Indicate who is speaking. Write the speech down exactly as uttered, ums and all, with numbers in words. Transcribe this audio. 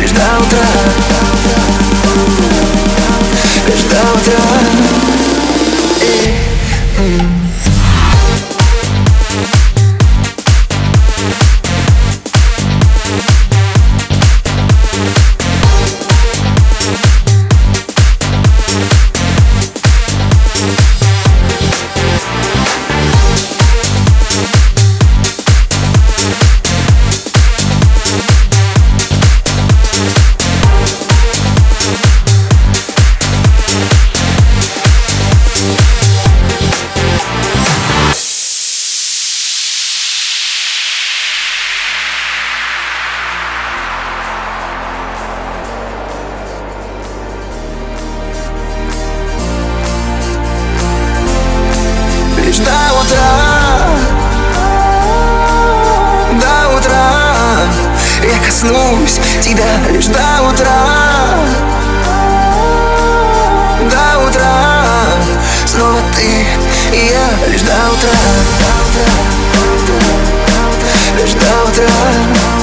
Speaker 1: лишь до утра, лишь до утра. И, м. Лишь до утра, до утра я коснусь тебя лишь до утра, до утра. Снова ты и я лишь до утра, лишь до утра.